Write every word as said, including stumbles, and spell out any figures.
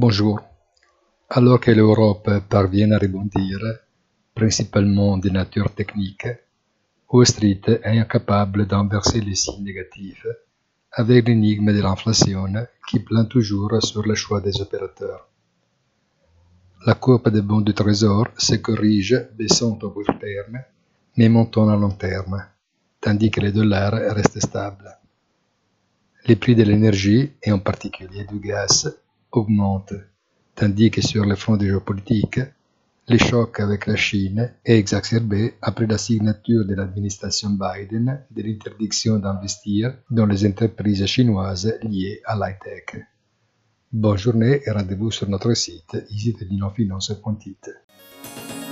Bonjour. Alors que l'Europe parvient à rebondir, principalement de nature technique, Wall Street est incapable d'inverser les signes négatifs avec l'énigme de l'inflation qui plane toujours sur le choix des opérateurs. La courbe des bons du trésor se corrige baissant au court terme mais montant à long terme, tandis que le dollar reste stable. Les prix de l'énergie, et en particulier du gaz, augmentent, tandis que sur le front géopolitique, le choc avec la Chine est exacerbé après la signature de l'administration Biden de l'interdiction d'investir dans les entreprises chinoises liées à l'high-tech. Bonne journée et rendez-vous sur notre site easy tedino finance point it.